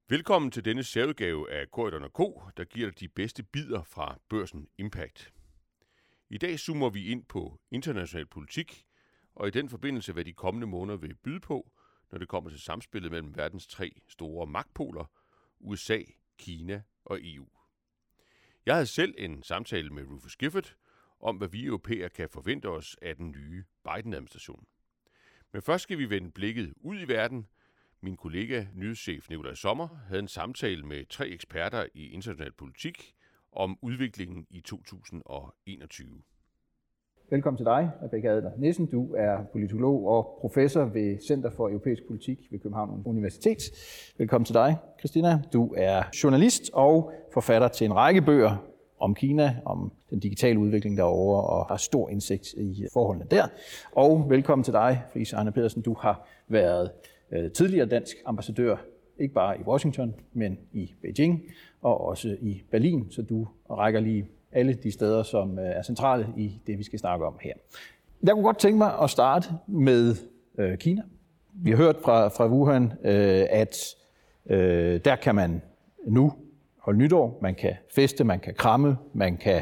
Velkommen til denne særudgave af Corydon & Co., der giver dig de bedste bidder fra Børsen Impact. I dag zoomer vi ind på international politik, og i den forbindelse hvad de kommende måneder vil byde på, når det kommer til samspillet mellem verdens tre store magtpoler, USA, Kina og EU. Jeg havde selv en samtale med Rufus Gifford om, hvad vi europæere kan forvente os af den nye Biden-administration. Men først skal vi vende blikket ud i verden. Min kollega, nyhedschef Nikolaj Sommer, havde en samtale med tre eksperter i international politik om udviklingen i 2021. Velkommen til dig, Rebecca Adler Nissen. Du er politolog og professor ved Center for Europæisk Politik ved København Universitet. Velkommen til dig, Christina. Du er journalist og forfatter til en række bøger om Kina, om den digitale udvikling derovre, og har stor indsigt i forholdene der. Og velkommen til dig, Friis Arne Pedersen. Du har været tidligere dansk ambassadør, ikke bare i Washington, men i Beijing og også i Berlin, så du rækker lige alle de steder, som er centrale i det, vi skal snakke om her. Jeg kunne godt tænke mig at starte med Kina. Vi har hørt fra Wuhan, at der kan man nu holde nytår, man kan feste, man kan kramme, man kan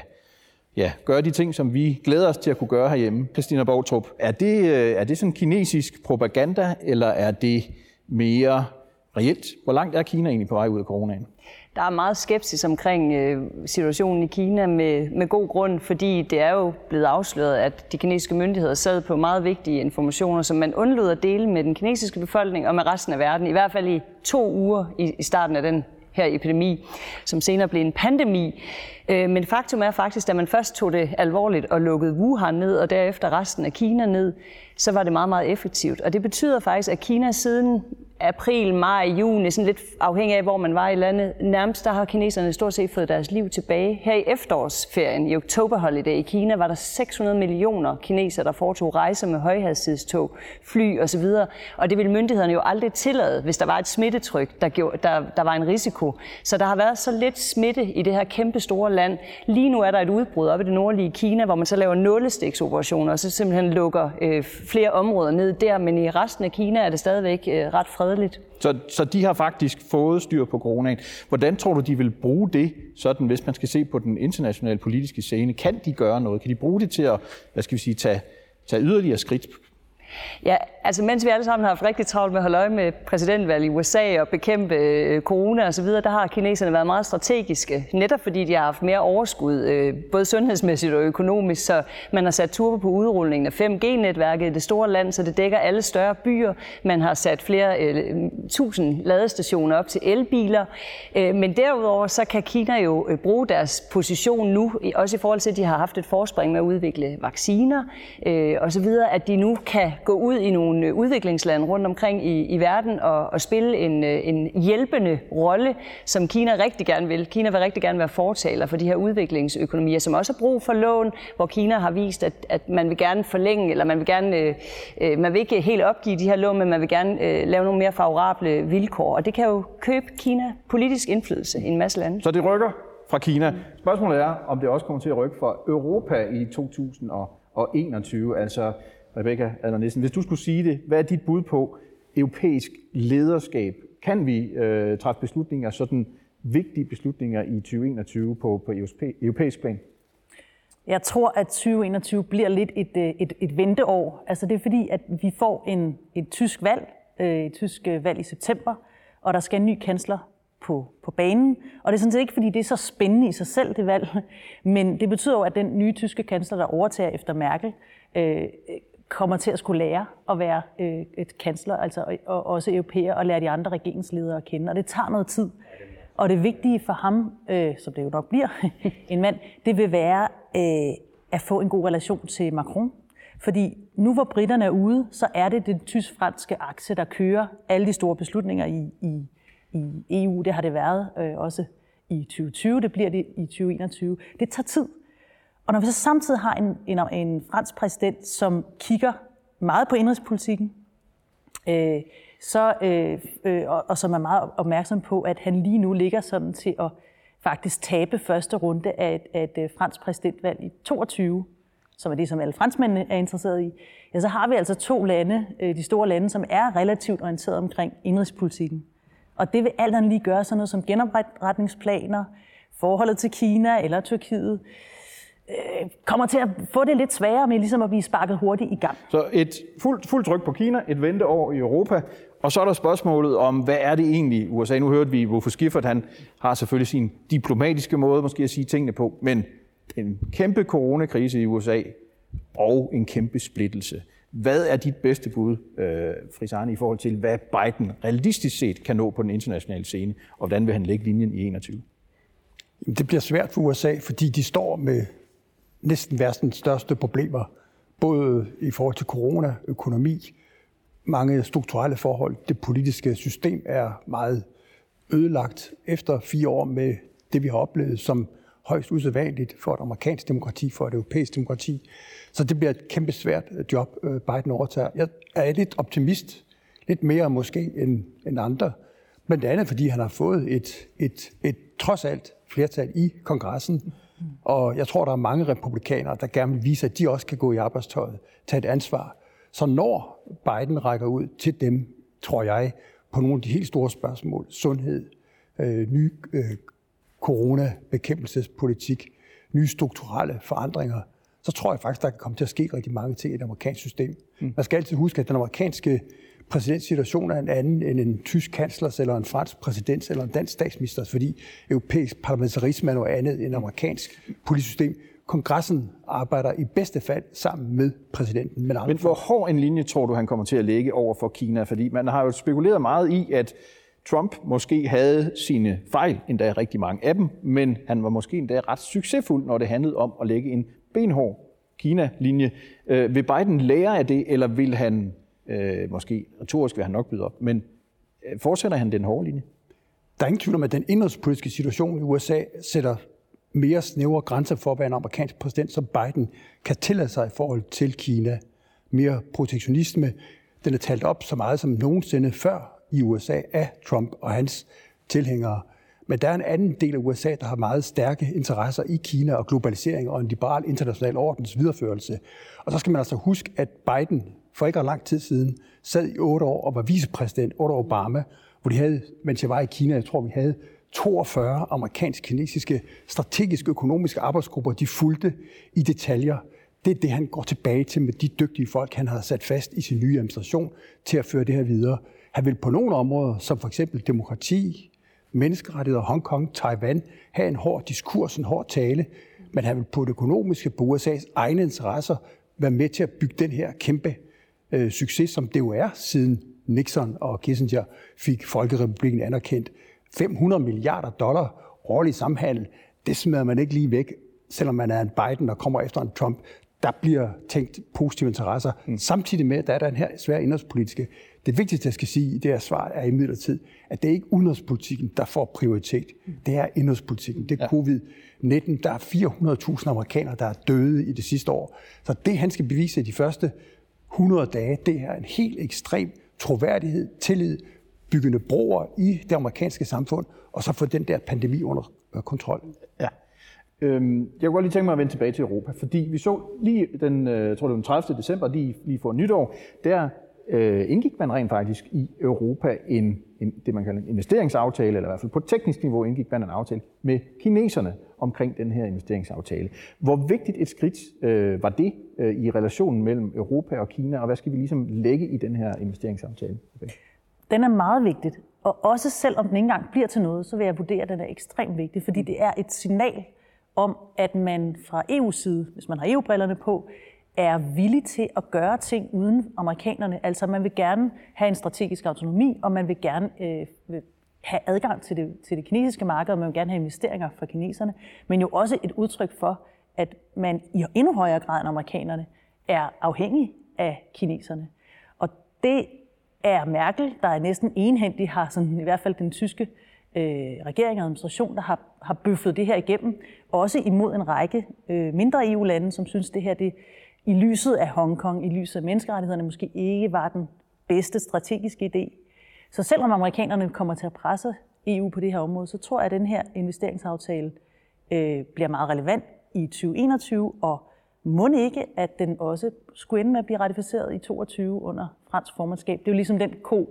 gøre de ting, som vi glæder os til at kunne gøre herhjemme. Christina Boutrup, er det sådan kinesisk propaganda, eller er det mere reelt? Hvor langt er Kina egentlig på vej ud af coronaen? Der er meget skepsis omkring situationen i Kina med god grund, fordi det er jo blevet afsløret, at de kinesiske myndigheder sad på meget vigtige informationer, som man undlod at dele med den kinesiske befolkning og med resten af verden, i hvert fald i 2 uger i starten af den her epidemi, som senere blev en pandemi. Men faktum er faktisk, at man først tog det alvorligt og lukkede Wuhan ned, og derefter resten af Kina ned, så var det meget, meget effektivt. Og det betyder faktisk, at Kina siden april, maj, juni, sådan lidt afhængig af, hvor man var i landet, nærmest der har kineserne stort set fået deres liv tilbage. Her i efterårsferien, i October Holiday i Kina, var der 600 millioner kinesere, der foretog rejser med højhastighedstog, fly osv. Og det ville myndighederne jo aldrig tillade, hvis der var et smittetryk, der var en risiko. Så der har været så lidt smitte i det her kæmpe store land. Lige nu er der et udbrud op i det nordlige Kina, hvor man så laver nålestiksoperationer, og så simpelthen lukker flere områder ned der, men i resten af Kina er det stadigvæk ret fredeligt. Så de har faktisk fået styr på coronaen. Hvordan tror du, de vil bruge det, sådan hvis man skal se på den internationale politiske scene? Kan de gøre noget? Kan de bruge det til at, tage yderligere skridt? Ja, altså mens vi alle sammen har haft rigtig travlt med at holde øje med præsidentvalget i USA og bekæmpe corona osv., der har kineserne været meget strategiske, netop fordi de har haft mere overskud, både sundhedsmæssigt og økonomisk, så man har sat turbo på udrulningen af 5G-netværket i det store land, så det dækker alle større byer. Man har sat flere 1000 ladestationer op til elbiler, men derudover så kan Kina jo bruge deres position nu, også i forhold til, at de har haft et forspring med at udvikle vacciner osv., at de nu kan gå ud i nogle udviklingslande rundt omkring i verden og spille en hjælpende rolle, som Kina rigtig gerne vil. Kina vil rigtig gerne være fortaler for de her udviklingsøkonomier, som også har brug for lån, hvor Kina har vist, at man vil gerne forlænge, eller man vil ikke helt opgive de her lån, men man vil gerne lave nogle mere favorable vilkår. Og det kan jo købe Kina politisk indflydelse i en masse lande. Så det rykker fra Kina. Spørgsmålet er, om det også kommer til at rykke fra Europa i 2021, altså Rebecca Adler Nissen, hvis du skulle sige det, hvad er dit bud på europæisk lederskab? Kan vi træffe beslutninger, sådan vigtige beslutninger i 2021 på europæisk plan? Jeg tror, at 2021 bliver lidt et venteår. Altså det er fordi, at vi får et tysk valg i september, og der skal en ny kansler på banen. Og det er sådan set ikke, fordi det er så spændende i sig selv, det valg, men det betyder jo, at den nye tyske kansler, der overtager efter Merkel, kommer til at skulle lære at være et kansler, altså og også europæer, og lære de andre regeringsledere at kende. Og det tager noget tid. Og det vigtige for ham, som det jo nok bliver, en mand, det vil være at få en god relation til Macron. Fordi nu hvor briterne er ude, så er det den tysk-franske akse, der kører alle de store beslutninger i EU. Det har det været også i 2020, det bliver det i 2021. Det tager tid. Og når vi så samtidig har en fransk præsident, som kigger meget på indenrigspolitikken, og som er meget opmærksom på, at han lige nu ligger sådan til at faktisk tabe første runde af et fransk præsidentvalg i 2022, som er det, som alle franskmændene er interesseret i, ja, så har vi altså 2 lande, de store lande, som er relativt orienteret omkring indenrigspolitikken. Og det vil alt andet lige gøre sådan noget som genopretningsplaner, forholdet til Kina eller Tyrkiet, kommer til at få det lidt sværere med ligesom at blive sparket hurtigt i gang. Så et fuldt tryk på Kina, et venteår i Europa, og så er der spørgsmålet om, hvad er det egentlig USA? Nu hørte vi, Wolf Schifferth, han har selvfølgelig sin diplomatiske måde måske at sige tingene på, men en kæmpe coronakrise i USA og en kæmpe splittelse. Hvad er dit bedste bud, Friis Arne, i forhold til, hvad Biden realistisk set kan nå på den internationale scene, og hvordan vil han lægge linjen i 21? Det bliver svært for USA, fordi de står med næsten verdens største problemer, både i forhold til corona, økonomi, mange strukturelle forhold. Det politiske system er meget ødelagt efter 4 år med det, vi har oplevet som højst usædvanligt for et amerikansk demokrati, for et europæisk demokrati. Så det bliver et kæmpe svært job, Biden overtager. Jeg er lidt optimist, lidt mere måske end andre, blandt andet fordi han har fået et trods alt flertal i kongressen. Og jeg tror, der er mange republikanere, der gerne vil vise, at de også kan gå i arbejdstøjet, tage et ansvar. Så når Biden rækker ud til dem, tror jeg, på nogle af de helt store spørgsmål, sundhed, ny coronabekæmpelsespolitik, nye strukturelle forandringer, så tror jeg faktisk, der kan komme til at ske rigtig mange ting i det amerikanske system. Man skal altid huske, at den amerikanske præsidentsituation er en anden end en tysk kanslers, eller en fransk præsidents, eller en dansk statsministers, fordi europæisk parlamentarisme er noget andet end amerikansk politisk system. Kongressen arbejder i bedste fald sammen med præsidenten. Men hvor hård en linje tror du, han kommer til at lægge over for Kina? Fordi man har jo spekuleret meget i, at Trump måske havde sine fejl, endda rigtig mange af dem, men han var måske endda ret succesfuld, når det handlede om at lægge en benhård Kina-linje. Vil Biden lære af det, eller vil han, måske retorisk vil han nok byde op, men fortsætter han den hårde linje? Der er ingen tvivl om, at den indrigspolitiske situation i USA sætter mere snævre grænser for, hvad en amerikansk præsident som Biden kan tillade sig i forhold til Kina. Mere protektionisme. Den er talt op så meget som nogensinde før i USA af Trump og hans tilhængere. Men der er en anden del af USA, der har meget stærke interesser i Kina og globalisering og en liberal international ordens videreførelse. Og så skal man altså huske, at Biden for ikke lang tid siden sad i 8 år og var vicepræsident under Obama, hvor de havde, mens jeg var i Kina, jeg tror vi havde 42 amerikansk-kinesiske strategiske økonomiske arbejdsgrupper, de fulgte i detaljer. Det er det, han går tilbage til med de dygtige folk, han har sat fast i sin nye administration til at føre det her videre. Han vil på nogle områder, som for eksempel demokrati, menneskerettigheder, Hongkong, Taiwan, have en hård diskurs, en hård tale, men han vil på det økonomiske, på USA's egne interesser, være med til at bygge den her kæmpe succes, som det jo er, siden Nixon og Kissinger fik Folkerepublikken anerkendt. $500 milliarder årlig samhandel, det smider man ikke lige væk, selvom man er en Biden og kommer efter en Trump. Der bliver tænkt positive interesser. Samtidig med, at der er den her svære indrigspolitiske. Det vigtigste, jeg skal sige i det her svar, er imidlertid, at det er ikke udenrigspolitikken, der får prioritet. Det er indrigspolitikken. Det er covid-19. Der er 400.000 amerikanere, der er døde i det sidste år. Så det, han skal bevise i de første 100 dage, det er en helt ekstrem troværdighed, tillid, byggende broer i det amerikanske samfund, og så få den der pandemi under kontrol. Ja. Jeg kunne godt lige tænke mig at vende tilbage til Europa, fordi vi så lige den 30. december, lige for nytår, der indgik man rent faktisk i Europa det, man kalder en investeringsaftale, eller i hvert fald på teknisk niveau indgik man en aftale med kineserne omkring den her investeringsaftale. Hvor vigtigt et skridt var det i relationen mellem Europa og Kina, og hvad skal vi ligesom lægge i den her investeringsaftale? Okay. Den er meget vigtig, og også selvom den ikke engang bliver til noget, så vil jeg vurdere, at den er ekstremt vigtig, fordi det er et signal om, at man fra EU's side, hvis man har EU-brillerne på, er villig til at gøre ting uden amerikanerne. Altså man vil gerne have en strategisk autonomi, og man vil gerne have adgang til det kinesiske marked, og man vil gerne have investeringer fra kineserne, men jo også et udtryk for, at man i endnu højere grad end amerikanerne er afhængig af kineserne. Og det er Merkel, der er næsten enhændig, har sådan, i hvert fald den tyske regering og administration, der har bøffet det her igennem, også imod en række mindre EU-lande, som synes, det her det, i lyset af Hongkong, i lyset af menneskerettighederne, måske ikke var den bedste strategiske idé. Så selvom amerikanerne kommer til at presse EU på det her område, så tror jeg, at den her investeringsaftale bliver meget relevant i 2021, og må ikke, at den også skulle ende med at blive ratificeret i 2022 under fransk formandskab. Det er jo ligesom den ko,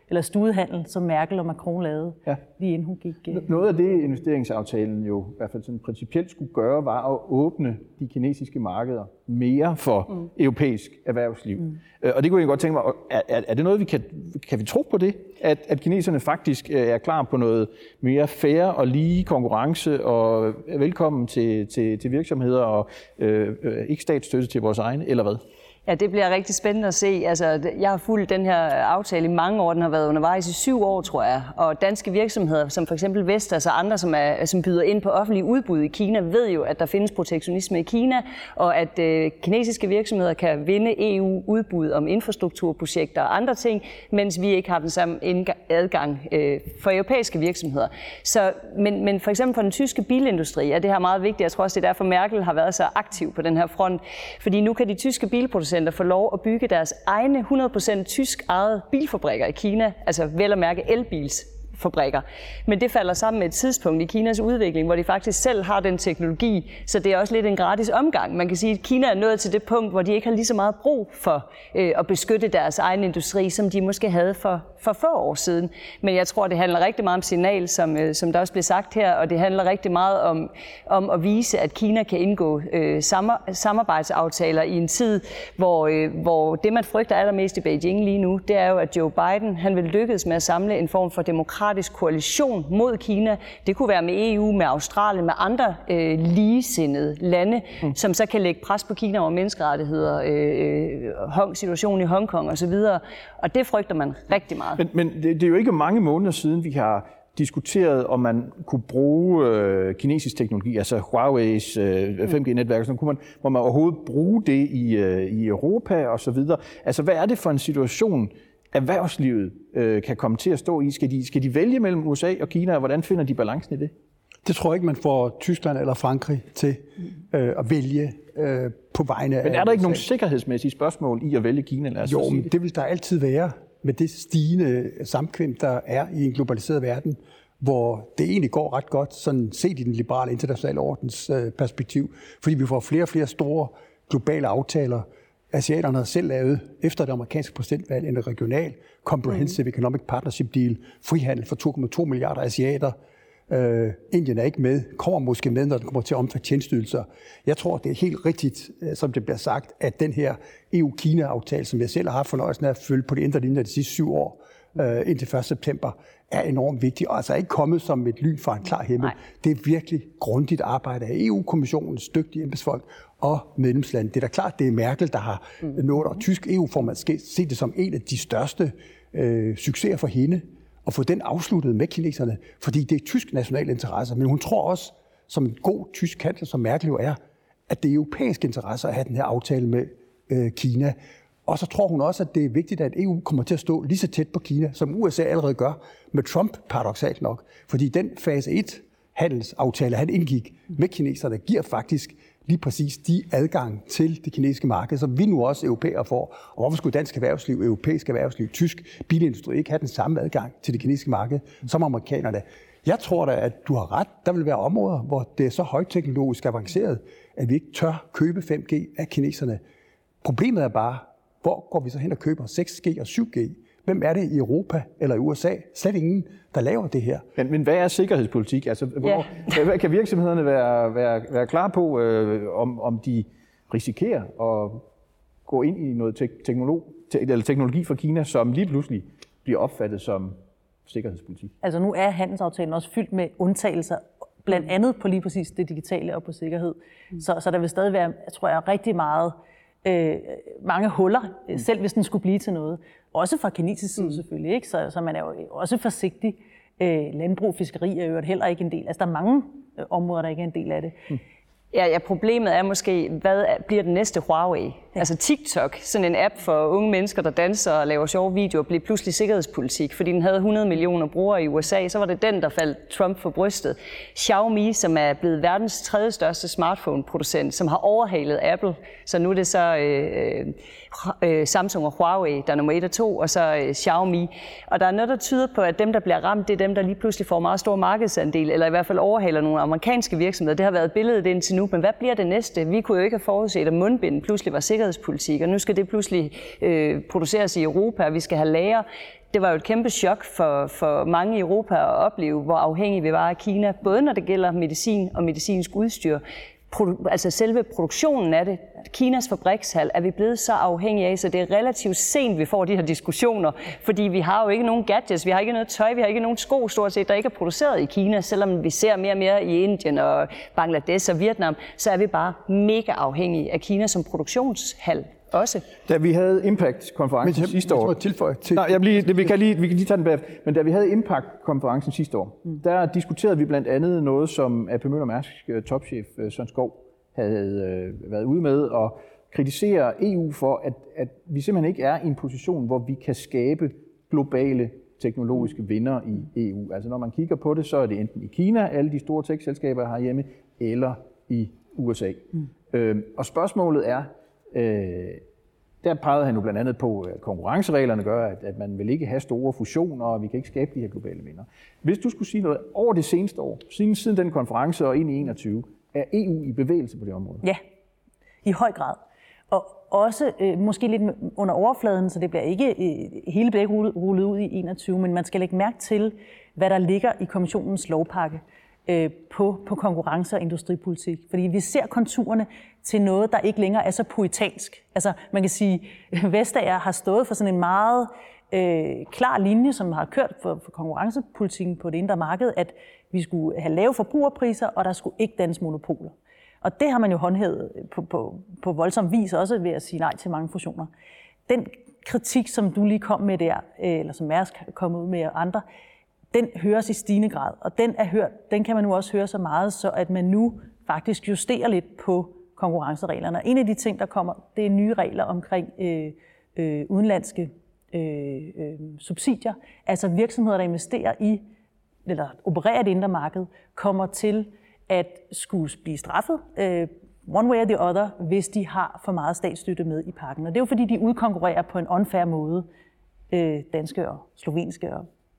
eller studehandel, som Merkel og Macron lavede, lige inden hun gik. Noget af det, investeringsaftalen jo i hvert fald sådan principielt skulle gøre, var at åbne de kinesiske markeder mere for europæisk erhvervsliv. Og det kunne jeg godt tænke mig, er det noget, kan vi tro på det? At kineserne faktisk er klar på noget mere fair og lige konkurrence og velkommen til virksomheder og ikke statsstøtte til vores egne, eller hvad? Ja, det bliver rigtig spændende at se. Altså, jeg har fulgt den her aftale i mange år. Den har været undervejs i 7 år, tror jeg. Og danske virksomheder, som for eksempel Vestas og andre, som byder ind på offentlige udbud i Kina, ved jo, at der findes protektionisme i Kina, og at kinesiske virksomheder kan vinde EU-udbud om infrastrukturprojekter og andre ting, mens vi ikke har den samme adgang for europæiske virksomheder. Så, men for eksempel for den tyske bilindustri er det her meget vigtigt. Jeg tror også, det er derfor, Merkel har været så aktiv på den her front. Fordi nu kan de tyske bilproducenter få lov at bygge deres egne 100% tysk ejede bilfabrikker i Kina, altså vel at mærke elbilsfabrikker. Men det falder sammen med et tidspunkt i Kinas udvikling, hvor de faktisk selv har den teknologi, så det er også lidt en gratis omgang. Man kan sige, at Kina er nået til det punkt, hvor de ikke har lige så meget brug for at beskytte deres egen industri, som de måske havde for få år siden. Men jeg tror, det handler rigtig meget om signal, som der også blev sagt her, og det handler rigtig meget om at vise, at Kina kan indgå samarbejdsaftaler i en tid, hvor det, man frygter allermest i Beijing lige nu, det er jo, at Joe Biden han vil lykkes med at samle en form for demokratisk koalition mod Kina. Det kunne være med EU, med Australien, med andre ligesindede lande, som så kan lægge pres på Kina over menneskerettigheder, situationen i Hongkong osv. Og det frygter man rigtig meget. Men det er jo ikke mange måneder siden, vi har diskuteret, om man kunne bruge kinesisk teknologi, altså Huawei's 5G-netværk, så må man overhovedet bruge det i Europa og så videre. Altså, hvad er det for en situation, erhvervslivet kan komme til at stå i? Skal de vælge mellem USA og Kina, og hvordan finder de balancen i det? Det tror jeg ikke, man får Tyskland eller Frankrig til at vælge på vegne af. Men er der ikke nogen sikkerhedsmæssige spørgsmål i at vælge Kina? Jo, men det vil der altid være med det stigende samkvem, der er i en globaliseret verden, hvor det egentlig går ret godt, sådan set i den liberale internationale ordens perspektiv, fordi vi får flere og flere store globale aftaler. Asiaterne har selv lavet, efter det amerikanske præsidentvalg, en regional Comprehensive Economic Partnership Deal, frihandel for 2,2 milliarder asiater. Indien er ikke med, kommer måske med, når den kommer til at omfatte tjenesteydelser. Jeg tror, det er helt rigtigt, som det bliver sagt, at den her EU-Kina-aftale, som jeg selv har haft fornøjelsen af at følge på det indre linje de sidste 7 år, indtil 1. september, er enormt vigtig, og altså ikke kommet som et lyn fra en klar himmel. Nej. Det er virkelig grundigt arbejde af EU-kommissionens dygtige embedsfolk og medlemsland. Det er da klart, det er Merkel, der har nået, og tysk EU-formand set det som en af de største succeser for hende, og få den afsluttet med kineserne, fordi det er tysk national interesse. Men hun tror også, som en god tysk kansler, som Merkel jo er, at det er europæiske interesser at have den her aftale med Kina. Og så tror hun også, at det er vigtigt, at EU kommer til at stå lige så tæt på Kina, som USA allerede gør med Trump, paradoksalt nok. Fordi den fase 1 handelsaftale, han indgik med kineserne, giver faktisk lige præcis de adgang til det kinesiske marked, som vi nu også europæere får. Og hvorfor skulle dansk erhvervsliv, europæisk erhvervsliv, tysk bilindustri ikke have den samme adgang til det kinesiske marked som amerikanerne? Jeg tror da, at du har ret. Der vil være områder, hvor det er så højteknologisk avanceret, at vi ikke tør købe 5G af kineserne. Problemet er bare, hvor går vi så hen og køber 6G og 7G? Hvem er det i Europa eller i USA? Slet ingen, der laver det her. Men hvad er sikkerhedspolitik? Altså, hvad kan virksomhederne være klar på, om de risikerer at gå ind i noget teknologi fra Kina, som lige pludselig bliver opfattet som sikkerhedspolitik? Altså nu er handelsaftalen også fyldt med undtagelser, blandt andet på lige præcis det digitale og på sikkerhed. Så der vil stadig være, tror jeg, rigtig mange huller, selv hvis den skulle blive til noget. Også fra kinesisk side selvfølgelig, ikke? Så man er jo også forsigtig. Landbrug, fiskeri er jo heller ikke en del. Altså der er mange områder, der ikke er en del af det. Ja, problemet er måske, hvad bliver den næste Huawei? Ja. Altså TikTok, sådan en app for unge mennesker, der danser og laver sjove videoer, blev pludselig sikkerhedspolitik, fordi den havde 100 millioner brugere i USA, så var det den, der faldt Trump for brystet. Xiaomi, som er blevet verdens 3. største smartphone-producent, som har overhalet Apple, så nu er det så Samsung og Huawei, der er nummer 1 og 2, og så Xiaomi. Og der er noget, der tyder på, at dem, der bliver ramt, det er dem, der lige pludselig får meget stor markedsandel, eller i hvert fald overhaler nogle amerikanske virksomheder. Det har været billedet indtil nu, men hvad bliver det næste? Vi kunne jo ikke have forudset, at mundbind pludselig var sikkerhedspolitik, og nu skal det pludselig produceres i Europa, og vi skal have lager. Det var jo et kæmpe chok for mange i Europa at opleve, hvor afhængige vi var af Kina, både når det gælder medicin og medicinsk udstyr. Altså selve produktionen af det, Kinas fabrikshal, er vi blevet så afhængige af, så det er relativt sent, vi får de her diskussioner, fordi vi har jo ikke nogen gadgets, vi har ikke noget tøj, vi har ikke nogen sko stort set, der ikke er produceret i Kina, selvom vi ser mere og mere i Indien og Bangladesh og Vietnam, så er vi bare mega afhængige af Kina som produktionshal også. Da vi havde Impact-konferencen sidste år... vi kan lige tage den bagefter. Men da vi havde Impact-konferencen sidste år, der diskuterede vi blandt andet noget, som AP Møller Mærsk topchef Søren Skou havde været ude med og kritisere EU for, at vi simpelthen ikke er i en position, hvor vi kan skabe globale teknologiske vinder i EU. Altså når man kigger på det, så er det enten i Kina, alle de store tech-selskaber herhjemme, eller i USA. Og spørgsmålet er, der pegede han jo blandt andet på, at konkurrencereglerne gør, at man vil ikke have store fusioner, og vi kan ikke skabe de her globale vinder. Hvis du skulle sige noget over det seneste år, siden den konference og ind i 21, er EU i bevægelse på det område? Ja, i høj grad. Og også måske lidt under overfladen, så det bliver ikke hele bliver ikke rullet ud i 21, men man skal lægge mærke til, hvad der ligger i kommissionens lovpakke på konkurrence- og industripolitik. Fordi vi ser konturerne til noget, der ikke længere er så poetansk. Altså man kan sige, at Vestager har stået for sådan en meget klar linje, som har kørt for konkurrencepolitikken på det indre marked, at vi skulle have lave forbrugerpriser, og der skulle ikke dannes monopoler. Og det har man jo håndhævet på voldsom vis også ved at sige nej til mange fusioner. Den kritik, som du lige kom med der, eller som Mærsk kom ud med og andre, den høres i stigende grad, og den kan man nu også høre så meget, så at man nu faktisk justerer lidt på konkurrencereglerne. En af de ting, der kommer, det er nye regler omkring udenlandske subsidier, altså virksomheder, der investerer i, eller opererer det indre marked, kommer til at skulle blive straffet, one way or the other, hvis de har for meget statsstøtte med i pakken. Og det er jo fordi, de udkonkurrerer på en unfair måde danske og slovenske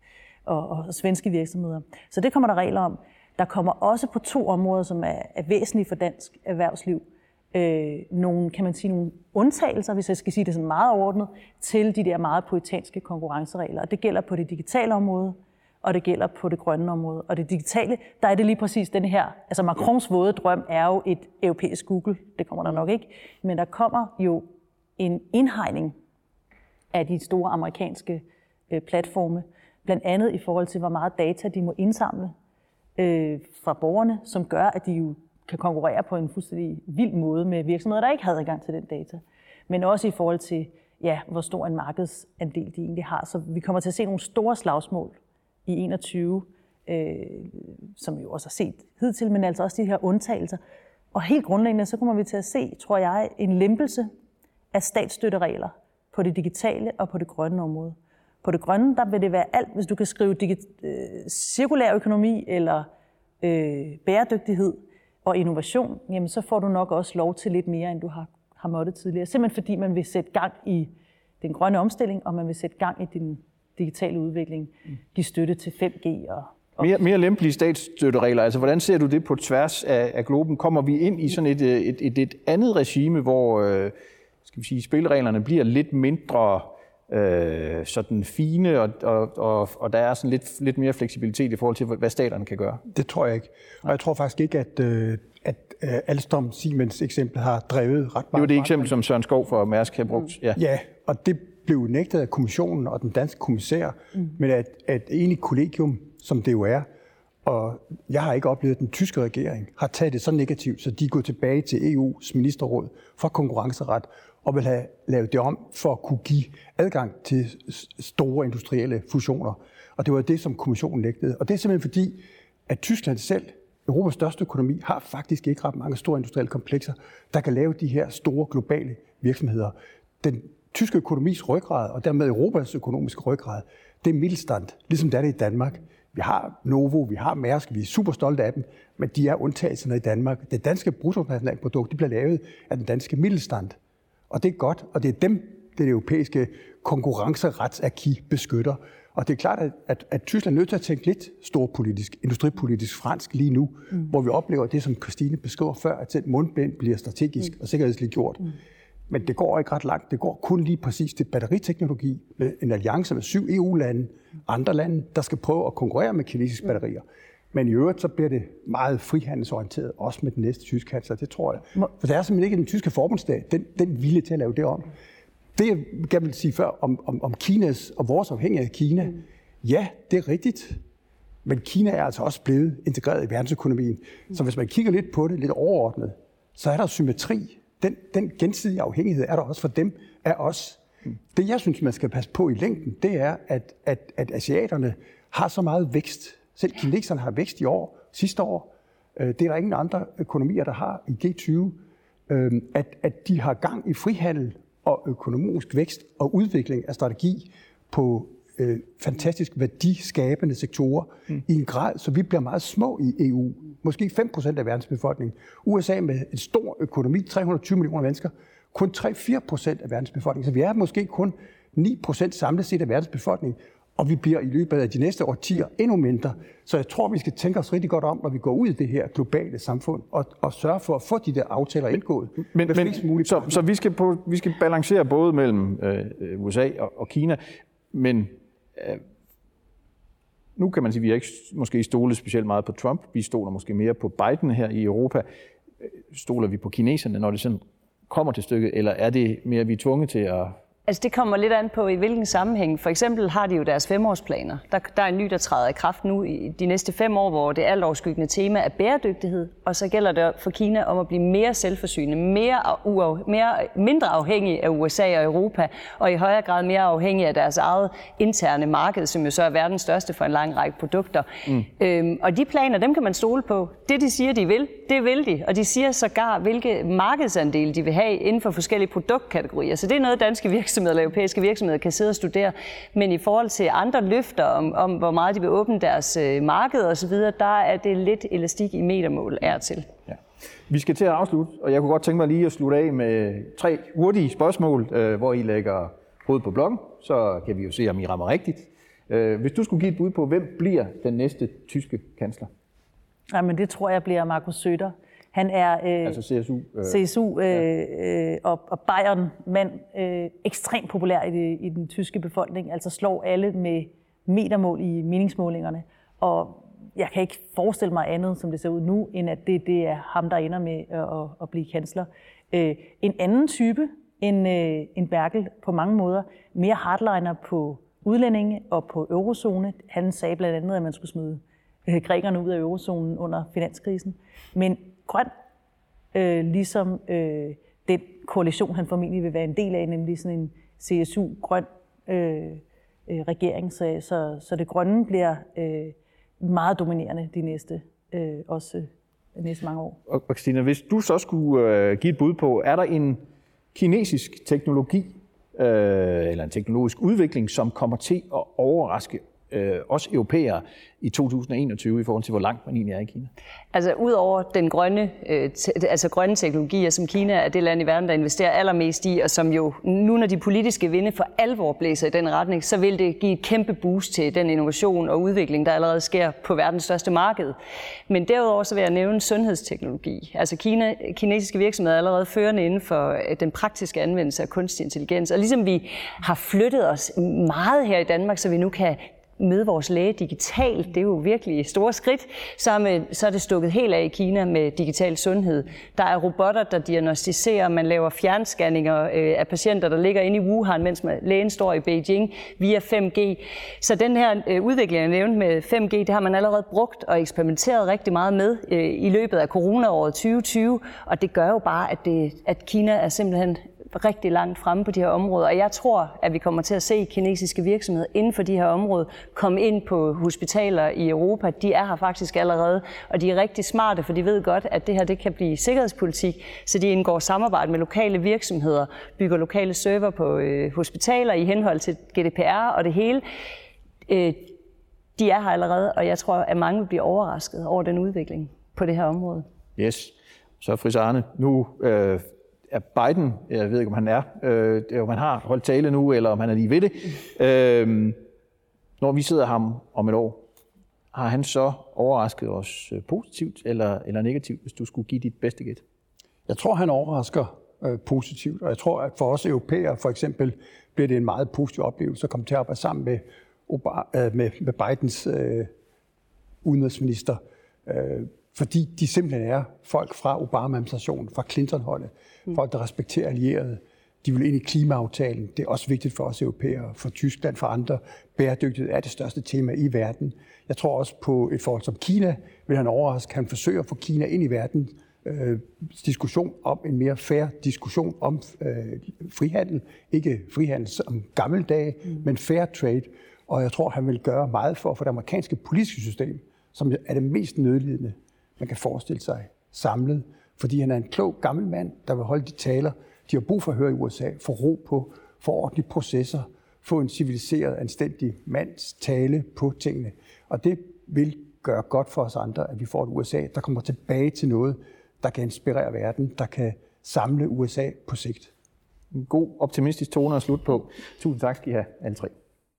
og svenske virksomheder. Så det kommer der regler om. Der kommer også på 2 områder, som er væsentlige for dansk erhvervsliv, nogle, kan man sige, nogle undtagelser, hvis jeg skal sige det sådan meget overordnet, til de der meget poetanske konkurrenceregler. Og det gælder på det digitale område, og det gælder på det grønne område. Og det digitale, der er det lige præcis den her, altså Macrons våde drøm er jo et europæisk Google, det kommer der nok ikke, men der kommer jo en indhegning af de store amerikanske platforme, blandt andet i forhold til, hvor meget data de må indsamle fra borgerne, som gør, at de jo kan konkurrere på en fuldstændig vild måde med virksomheder, der ikke havde adgang til den data. Men også i forhold til, ja, hvor stor en markedsandel de egentlig har. Så vi kommer til at se nogle store slagsmål i 21, som vi jo også har set hidtil, men altså også de her undtagelser. Og helt grundlæggende, så kommer vi til at se, tror jeg, en lempelse af statsstøtteregler på det digitale og på det grønne område. På det grønne, der vil det være alt, hvis du kan skrive cirkulær økonomi eller bæredygtighed og innovation, jamen så får du nok også lov til lidt mere, end du har måttet tidligere. Simpelthen fordi man vil sætte gang i den grønne omstilling, og man vil sætte gang i den digitale udvikling, give støtte til 5G og mere lempelige statsstøtteregler. Altså, hvordan ser du det på tværs af globen? Kommer vi ind i sådan et andet regime, hvor skal vi sige, spillereglerne bliver lidt mindre sådan fine, og der er sådan lidt mere fleksibilitet i forhold til, hvad staterne kan gøre? Det tror jeg ikke. Og jeg tror faktisk ikke, at Alstom Siemens eksempel har drevet ret meget. Det var det eksempel, som Søren Skou for Mærsk har brugt. Ja, og det blev nægtet af kommissionen og den danske kommissær, men at enig kollegium, som det jo er, og jeg har ikke oplevet, at den tyske regering har taget det så negativt, så de er gået tilbage til EU's ministerråd for konkurrenceret og vil have lavet det om for at kunne give adgang til store industrielle fusioner. Og det var det, som kommissionen nægtede. Og det er simpelthen fordi, at Tyskland selv, Europas største økonomi, har faktisk ikke ret mange store industrielle komplekser, der kan lave de her store globale virksomheder. Den tyske økonomis ryggrad, og dermed Europas økonomiske ryggrad, det er Mittelstand, ligesom det er det i Danmark. Vi har Novo, vi har Mærsk, vi er super stolte af dem, men de er undtagelserne i Danmark. Det danske bruttonationalprodukt, det bliver lavet af den danske Mittelstand. Og det er godt, og det er dem, det europæiske konkurrenceretsaki beskytter. Og det er klart, at Tyskland er nødt til at tænke lidt storpolitisk, industripolitisk fransk lige nu, hvor vi oplever det, som Christine beskriver før, at selv mundbind bliver strategisk og sikkerhedsligt gjort. Men det går ikke ret langt. Det går kun lige præcis til batteriteknologi med en alliance med 7 EU-lande, andre lande, der skal prøve at konkurrere med kinesiske batterier. Men i øvrigt, så bliver det meget frihandelsorienteret, også med den næste tyske kansler, det tror jeg. For der er simpelthen ikke den tyske forbundsstat, den vilje til at lave det om. Det, jeg gerne vil sige før om Kinas og vores afhængighed af Kina, ja, det er rigtigt. Men Kina er altså også blevet integreret i verdensøkonomien. Så hvis man kigger lidt på det, lidt overordnet, så er der symmetri. Den gensidige afhængighed er der også for dem af os. Det, jeg synes, man skal passe på i længden, det er, at asiaterne har så meget vækst. Selv kineserne har vækst i år, sidste år. Det er der ingen andre økonomier, der har i G20. At de har gang i frihandel og økonomisk vækst og udvikling af strategi på fantastisk værdiskabende sektorer i en grad, så vi bliver meget små i EU. Måske 5% af verdens befolkning. USA med en stor økonomi, 320 millioner mennesker, kun 3-4% af verdens befolkning. Så vi er måske kun 9% samlet set af verdens befolkning, og vi bliver i løbet af de næste årtier endnu mindre. Så jeg tror, vi skal tænke os rigtig godt om, når vi går ud i det her globale samfund, og sørge for at få de der aftaler indgået. Så vi skal balancere både mellem USA og Kina, men nu kan man sige, at vi ikke måske stolet specielt meget på Trump. Vi stoler måske mere på Biden her i Europa. Stoler vi på kineserne, når det sådan kommer til stykket, eller er det mere, vi er tvunget til at... Altså det kommer lidt an på, i hvilken sammenhæng. For eksempel har de jo deres 5-årsplaner. Der er en ny, der træder i kraft nu i de næste 5 år, hvor det alt overskyggende tema er bæredygtighed. Og så gælder det for Kina om at blive mere selvforsynende, mindre afhængig af USA og Europa, og i højere grad mere afhængig af deres eget interne marked, som jo så er verdens største for en lang række produkter. Og de planer, dem kan man stole på. Det, de siger, de vil, det vil de. Og de siger sågar, hvilke markedsandele de vil have inden for forskellige produktkategorier. Så det er noget, danske virksomheder eller europæiske virksomheder kan sidde og studere. Men i forhold til andre løfter om hvor meget de vil åbne deres marked osv., der er det lidt elastik i metermål er til. Ja. Vi skal til at afslutte, og jeg kunne godt tænke mig lige at slutte af med 3 hurtige spørgsmål, hvor I lægger hovedet på blokken. Så kan vi jo se, om I rammer rigtigt. Hvis du skulle give et bud på, hvem bliver den næste tyske kansler? Jamen, det tror jeg bliver Markus Söder. Han er altså CSU og Bayern-mand, ekstremt populær i den tyske befolkning, altså slår alle med metermål i meningsmålingerne. Og jeg kan ikke forestille mig andet, som det ser ud nu, end at det er ham, der ender med at blive kansler. En anden type end Merkel på mange måder, mere hardliner på udlændinge og på eurozone. Han sagde blandt andet, at man skulle smide grækerne ud af eurozonen under finanskrisen. Men grøn, ligesom den koalition, han formentlig vil være en del af, nemlig sådan en CSU-grøn regering. Så det grønne bliver meget dominerende de næste mange år. Og Christina, hvis du så skulle give et bud på, er der en kinesisk teknologi eller en teknologisk udvikling, som kommer til at overraske os europæere i 2021 i forhold til, hvor langt man egentlig er i Kina? Altså udover den grønne teknologier, som Kina er det land i verden, der investerer allermest i, og som jo nu, når de politiske vinde for alvor blæser i den retning, så vil det give et kæmpe boost til den innovation og udvikling, der allerede sker på verdens største marked. Men derudover så vil jeg nævne sundhedsteknologi. Altså kinesiske virksomheder er allerede førende inden for den praktiske anvendelse af kunstig intelligens. Og ligesom vi har flyttet os meget her i Danmark, så vi nu kan møde vores læge digitalt, det er jo virkelig store skridt, så er det stukket helt af i Kina med digital sundhed. Der er robotter, der diagnostiserer, man laver fjernscanninger af patienter, der ligger inde i Wuhan, mens lægen står i Beijing via 5G. Så den her udvikling, jeg nævnte med 5G, det har man allerede brugt og eksperimenteret rigtig meget med i løbet af coronaåret 2020, og det gør jo bare, at Kina er simpelthen rigtig langt fremme på de her områder. Og jeg tror, at vi kommer til at se kinesiske virksomheder inden for de her områder komme ind på hospitaler i Europa. De er her faktisk allerede, og de er rigtig smarte, for de ved godt, at det her det kan blive sikkerhedspolitik, så de indgår samarbejde med lokale virksomheder, bygger lokale server på hospitaler i henhold til GDPR og det hele. De er her allerede, og jeg tror, at mange vil blive overrasket over den udvikling på det her område. Yes. Så Friis Arne, nu er Biden, jeg ved ikke, om han om han har holdt tale nu, eller om han er lige ved det. Når vi sidder ham om et år, har han så overrasket os positivt eller negativt, hvis du skulle give dit bedste gæt? Jeg tror, han overrasker positivt, og jeg tror, at for os europæere for eksempel bliver det en meget positiv oplevelse at komme til at arbejde sammen med Bidens udenrigsminister, fordi de simpelthen er folk fra Obama-administrationen, fra Clinton-holdet, folk, der respekterer allierede. De vil ind i klimaaftalen. Det er også vigtigt for os europæere, for Tyskland, for andre. Bæredygtighed er det største tema i verden. Jeg tror også på et forhold som Kina, vil han overraske. Han forsøger at få Kina ind i verden. Diskussion om en mere fair diskussion om frihandel. Ikke frihandel som gammeldage, men fair trade. Og jeg tror, han vil gøre meget for at få det amerikanske politiske system, som er det mest nødlidende, man kan forestille sig, samlet. Fordi han er en klog gammel mand, der vil holde de taler, de har brug for at høre i USA, få ro på, få ordentlige processer, få en civiliseret, anstændig mands tale på tingene. Og det vil gøre godt for os andre, at vi får et USA, der kommer tilbage til noget, der kan inspirere verden, der kan samle USA på sigt. En god, optimistisk tone at slutte på. Tusind tak skal I have, alle tre.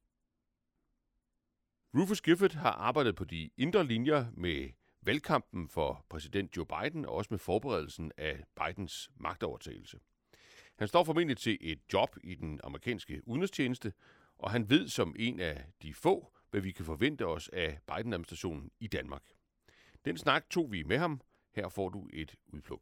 Rufus Gifford har arbejdet på de indre linjer med valgkampen for præsident Joe Biden og også med forberedelsen af Bidens magtovertagelse. Han står formentlig til et job i den amerikanske udenrigstjeneste, og han ved som en af de få, hvad vi kan forvente os af Biden-administrationen i Danmark. Den snak tog vi med ham. Her får du et udpluk.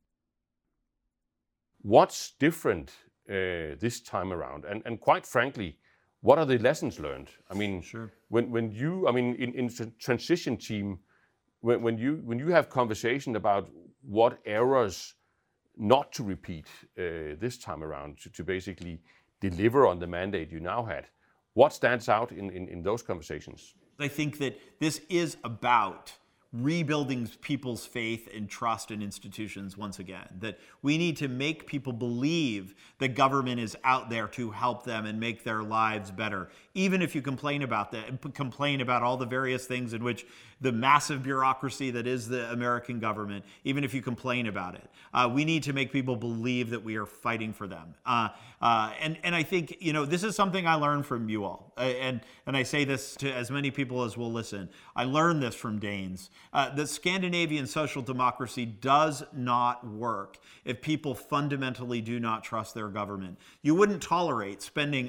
What's different this time around? And quite frankly, what are the lessons learned? I mean, sure. when you, I mean, in transition team, when you have conversation about what errors not to repeat this time around to basically deliver on the mandate you now had, what stands out in those conversations? I think that this is about rebuilding people's faith and trust in institutions once again. That we need to make people believe that government is out there to help them and make their lives better. Even if you complain about that, complain about all the various things in which the massive bureaucracy that is the American government, even if you complain about it, we need to make people believe that we are fighting for them. And I think, you know, this is something I learned from you all. And I say this to as many people as will listen. I learned this from Danes. The Scandinavian social democracy does not work if people fundamentally do not trust their government. You wouldn't tolerate spending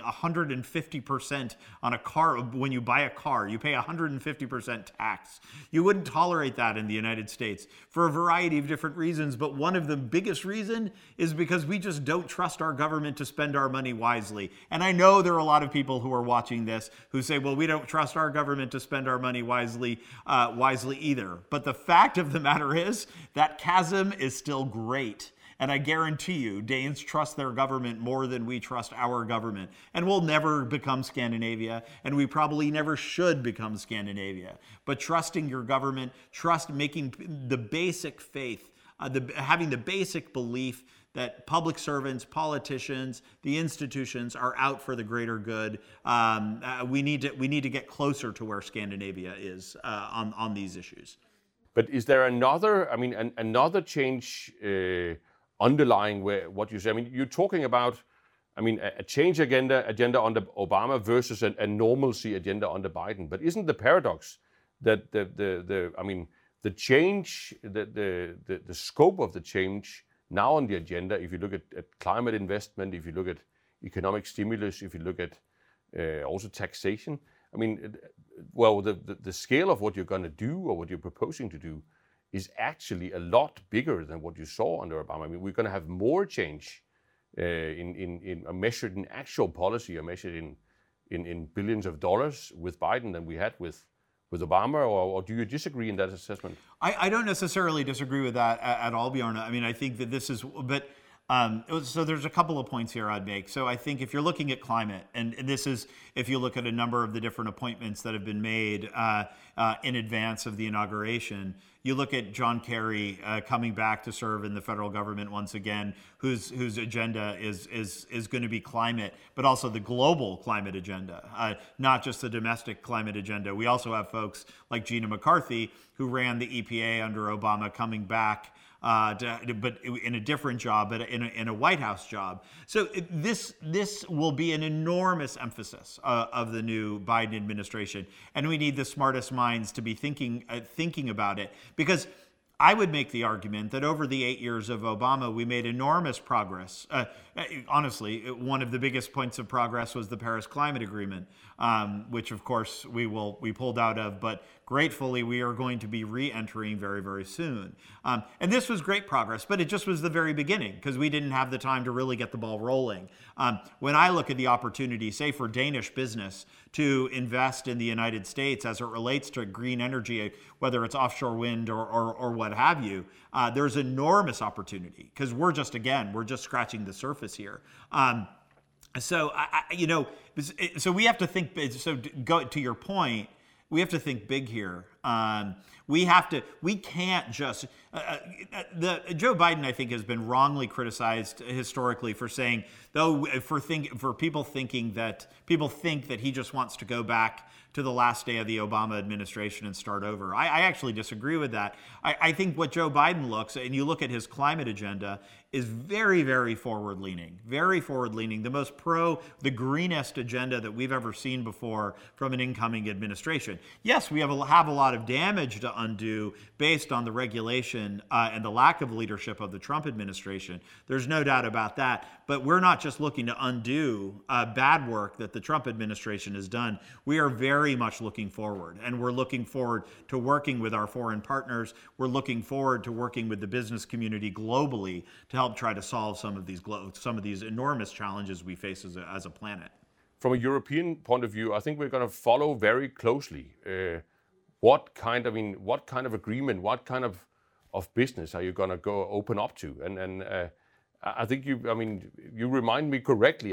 150% on a car. When you buy a car, you pay 150% tax. You wouldn't tolerate that in the United States for a variety of different reasons, but one of the biggest reason is because we just don't trust our government to spend our money wisely. And I know there are a lot of people who are watching this who say, well, we don't trust our government to spend our money wisely either. But the fact of the matter is that chasm is still great. And I guarantee you, Danes trust their government more than we trust our government. And we'll never become Scandinavia, and we probably never should become Scandinavia. But trusting your government, making the basic faith, having the basic belief that public servants, politicians, the institutions are out for the greater good. We need to get closer to where Scandinavia is on these issues. But is there another? I mean, another change underlying what you say? I mean, you're talking about, I mean, a change agenda under Obama versus a normalcy agenda under Biden. But isn't the paradox that the change, the scope of the change now on the agenda, if you look at climate investment, if you look at economic stimulus, if you look at also taxation, I mean, well, the scale of what you're going to do or what you're proposing to do is actually a lot bigger than what you saw under Obama. I mean, we're going to have more change measured in actual policy or measured in billions of dollars with Biden than we had with Obama, or do you disagree in that assessment? I don't necessarily disagree with that at all, Bjorn. I mean, I think that this is, but so there's a couple of points here I'd make. So I think if you're looking at climate, and this is if you look at a number of the different appointments that have been made in advance of the inauguration, You look at John Kerry coming back to serve in the federal government once again, whose agenda is going to be climate, but also the global climate agenda, not just the domestic climate agenda. We also have folks like Gina McCarthy, who ran the EPA under Obama, coming back, but in a different job, but in a White House job. So this will be an enormous emphasis of the new Biden administration, and we need the smartest minds to be thinking about it. Because I would make the argument that over the 8 years of Obama, we made enormous progress. Honestly, one of the biggest points of progress was the Paris Climate Agreement, which of course we pulled out of, but gratefully we are going to be re-entering very, very soon. And this was great progress, but it just was the very beginning because we didn't have the time to really get the ball rolling. When I look at the opportunity, say for Danish business to invest in the United States as it relates to green energy, whether it's offshore wind or what have you, there's enormous opportunity because we're just scratching the surface here. So we have to think. So go to your point. We have to think big here. We can't just. Joe Biden, I think, has been wrongly criticized historically for saying, people think that he just wants to go back to the last day of the Obama administration and start over. I actually disagree with that. I think what Joe Biden and you look at his climate agenda, is very, very forward-leaning, the greenest agenda that we've ever seen before from an incoming administration. Yes, we have a lot of damage to undo based on the regulation and the lack of leadership of the Trump administration. There's no doubt about that. But we're not just looking to undo bad work that the Trump administration has done. We are very much looking forward, and we're looking forward to working with our foreign partners. We're looking forward to working with the business community globally to help try to solve some of these enormous challenges we face as a planet. From a European point of view, I think we're going to follow very closely what kind of agreement, what kind of business are you going to go open up to? And I think you remind me correctly.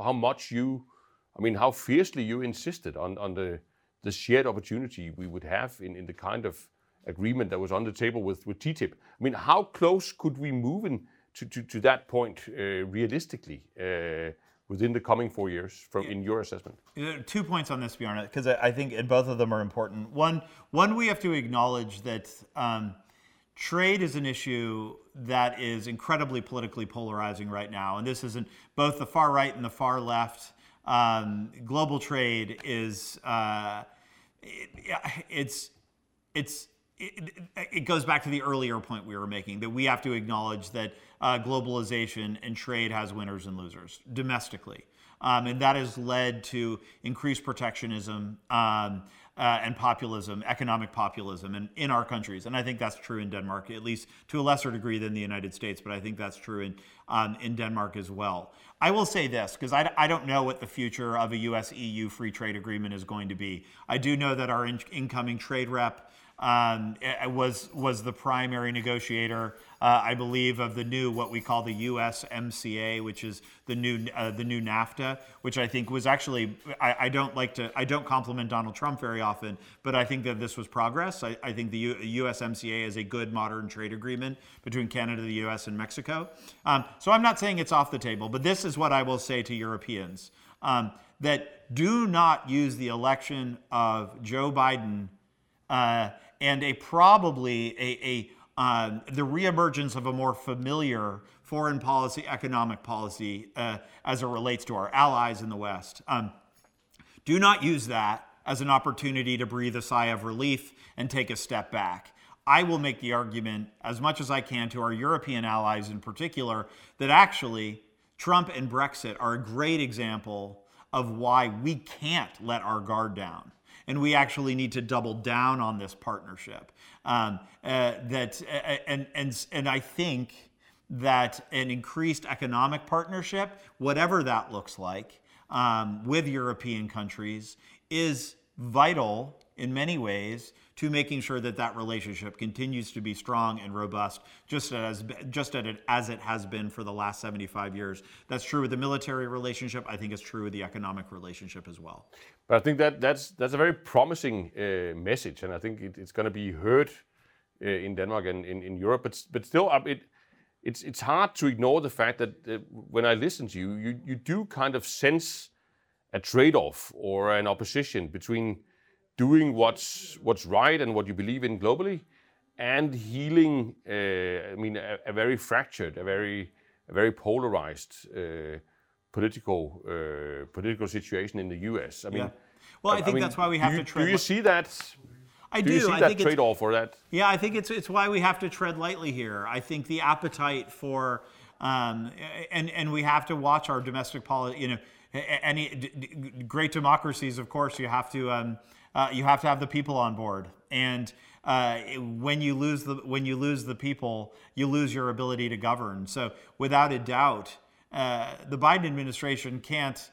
How fiercely you insisted on the shared opportunity we would have in the kind of agreement that was on the table with TTIP. How close could we move to that point realistically within the coming 4 years in your assessment? 2 points on this, Bjarne, because I think both of them are important. One, we have to acknowledge that trade is an issue that is incredibly politically polarizing right now, and this isn't both the far right and the far left. Global trade is it goes back to the earlier point we were making, that we have to acknowledge that globalization and trade has winners and losers domestically. And that has led to increased protectionism and populism, economic populism in our countries. And I think that's true in Denmark, at least to a lesser degree than the United States, but I think that's true in Denmark as well. I will say this, because I don't know what the future of a US-EU free trade agreement is going to be. I do know that our incoming trade rep was the primary negotiator, I believe, of the new, what we call the USMCA, which is the new NAFTA, which I think was actually, I don't compliment Donald Trump very often, but I think that this was progress. I think the USMCA is a good modern trade agreement between Canada, the US, and Mexico. So I'm not saying it's off the table, but this is what I will say to Europeans, that do not use the election of Joe Biden and the reemergence of a more familiar foreign policy, economic policy as it relates to our allies in the West. Do not use that as an opportunity to breathe a sigh of relief and take a step back. I will make the argument as much as I can to our European allies in particular that actually Trump and Brexit are a great example of why we can't let our guard down. And we actually need to double down on this partnership. And I think that an increased economic partnership, whatever that looks like, with European countries, is vital in many ways to making sure that relationship continues to be strong and robust, just as it has been for the last 75 years. That's true with the military relationship. I think it's true with the economic relationship as well. But I think that's a very promising message, and I think it's going to be heard in Denmark and in Europe. But still, it's hard to ignore the fact that when I listen to you, you do kind of sense a trade-off or an opposition between doing what's right and what you believe in globally, and healing. A very fractured, a very polarized political situation in the U.S. Well, I think that's why we have to tread. Do you see that? I do. You see that trade-off or that? Yeah, I think it's why we have to tread lightly here. I think the appetite for and we have to watch our domestic policy. Any great democracies, of course, you have to have the people on board, and when you lose the people, you lose your ability to govern. So, without a doubt, the Biden administration can't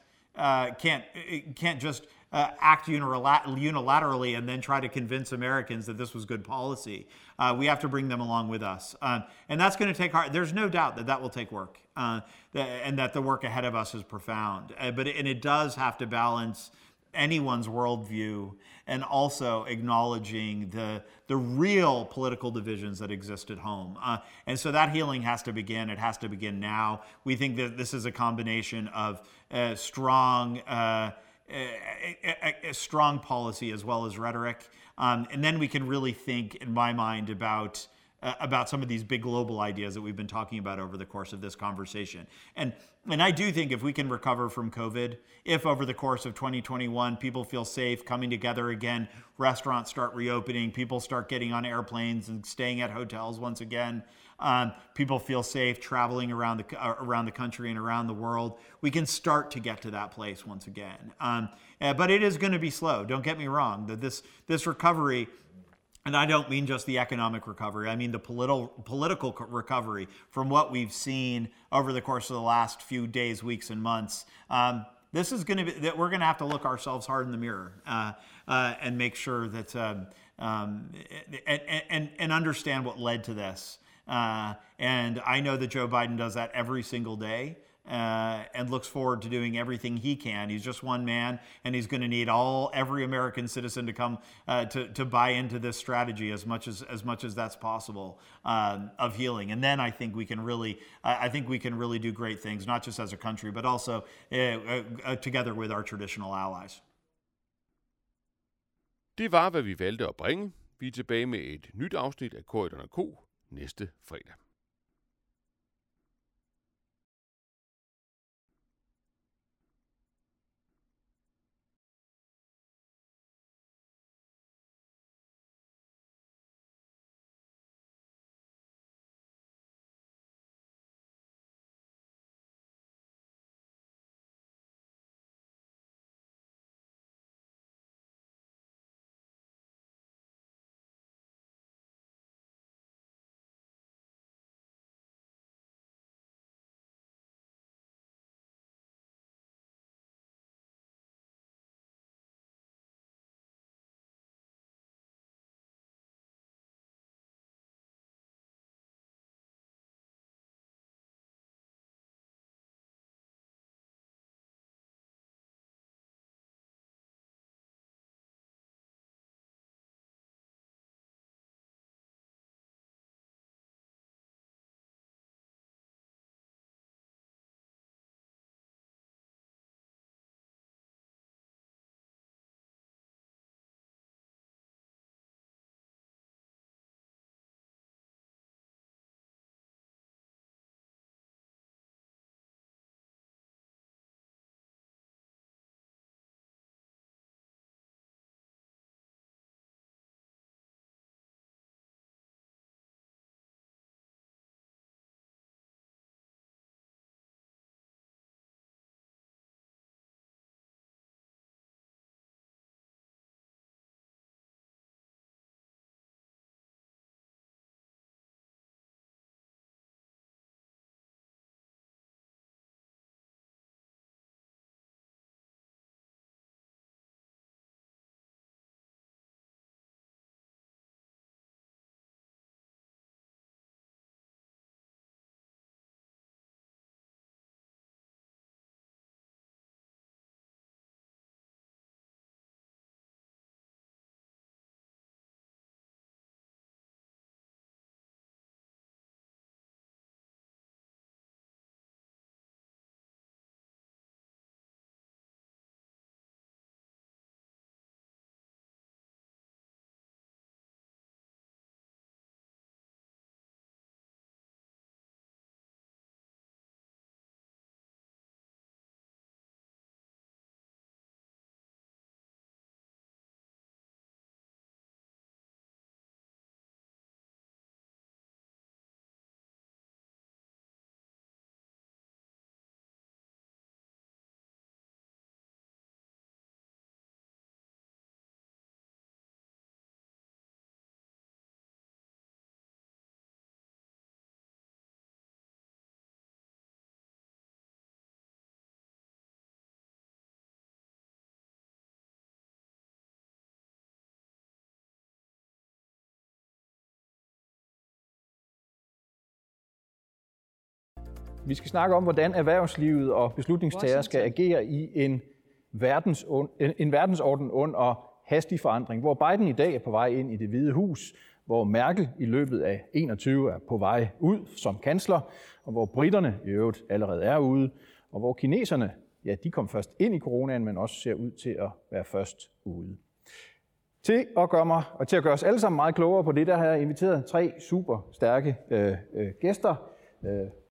just act unilaterally and then try to convince Americans that this was good policy. We have to bring them along with us. And that's going to take hard. There's no doubt that will take work, and that the work ahead of us is profound. But it does have to balance anyone's worldview and also acknowledging the real political divisions that exist at home. And so that healing has to begin. It has to begin now. We think that this is a combination of strong policy as well as rhetoric. And then we can really think, in my mind, about some of these big global ideas that we've been talking about over the course of this conversation. And I do think if we can recover from COVID, if over the course of 2021 people feel safe coming together again, restaurants start reopening, people start getting on airplanes and staying at hotels once again, people feel safe traveling around the country and around the world, we can start to get to that place once again. But it is going to be slow. Don't get me wrong. This recovery. And I don't mean just the economic recovery. I mean the political recovery from what we've seen over the course of the last few days, weeks, and months. This is going to be that we're going to have to look ourselves hard in the mirror and make sure that and understand what led to this. And I know that Joe Biden does that every single day. And looks forward to doing everything he can. He's just one man, and he's going to need every American citizen to come to buy into this strategy as much as that's possible of healing. And then I think we can really do great things, not just as a country, but also together with our traditional allies. Det var, hvad vi valgte at bringe. Vi er tilbage med et nyt afsnit af Corydon & Co. næste fredag. Vi skal snakke om, hvordan erhvervslivet og beslutningstagere skal agere i en verdensorden under hastig forandring, hvor Biden i dag er på vej ind i Det Hvide Hus, hvor Merkel i løbet af 21 er på vej ud som kansler, og hvor britterne i øvrigt allerede er ude, og hvor kineserne, ja, de kom først ind i coronaen, men også ser ud til at være først ude. Til at gøre os alle sammen meget klogere på det, der har jeg inviteret 3 super stærke gæster.